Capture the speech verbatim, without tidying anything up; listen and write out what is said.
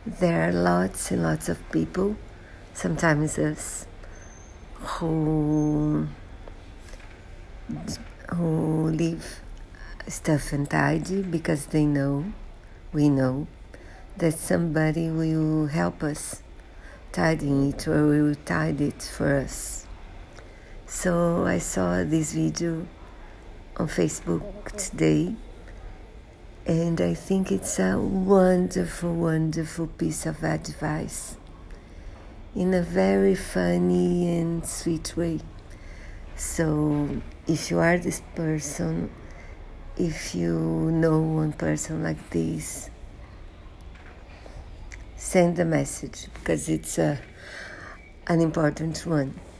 There are lots and lots of people, sometimes us, who who leave stuff untidy because they know, we know, that somebody will help us tidying it or will tidy it for us. So I saw this video on Facebook today, and I think it's a wonderful, wonderful piece of advice in a very funny and sweet way. So if you are this person, if you know one person like this, send the message because it's a, an important one.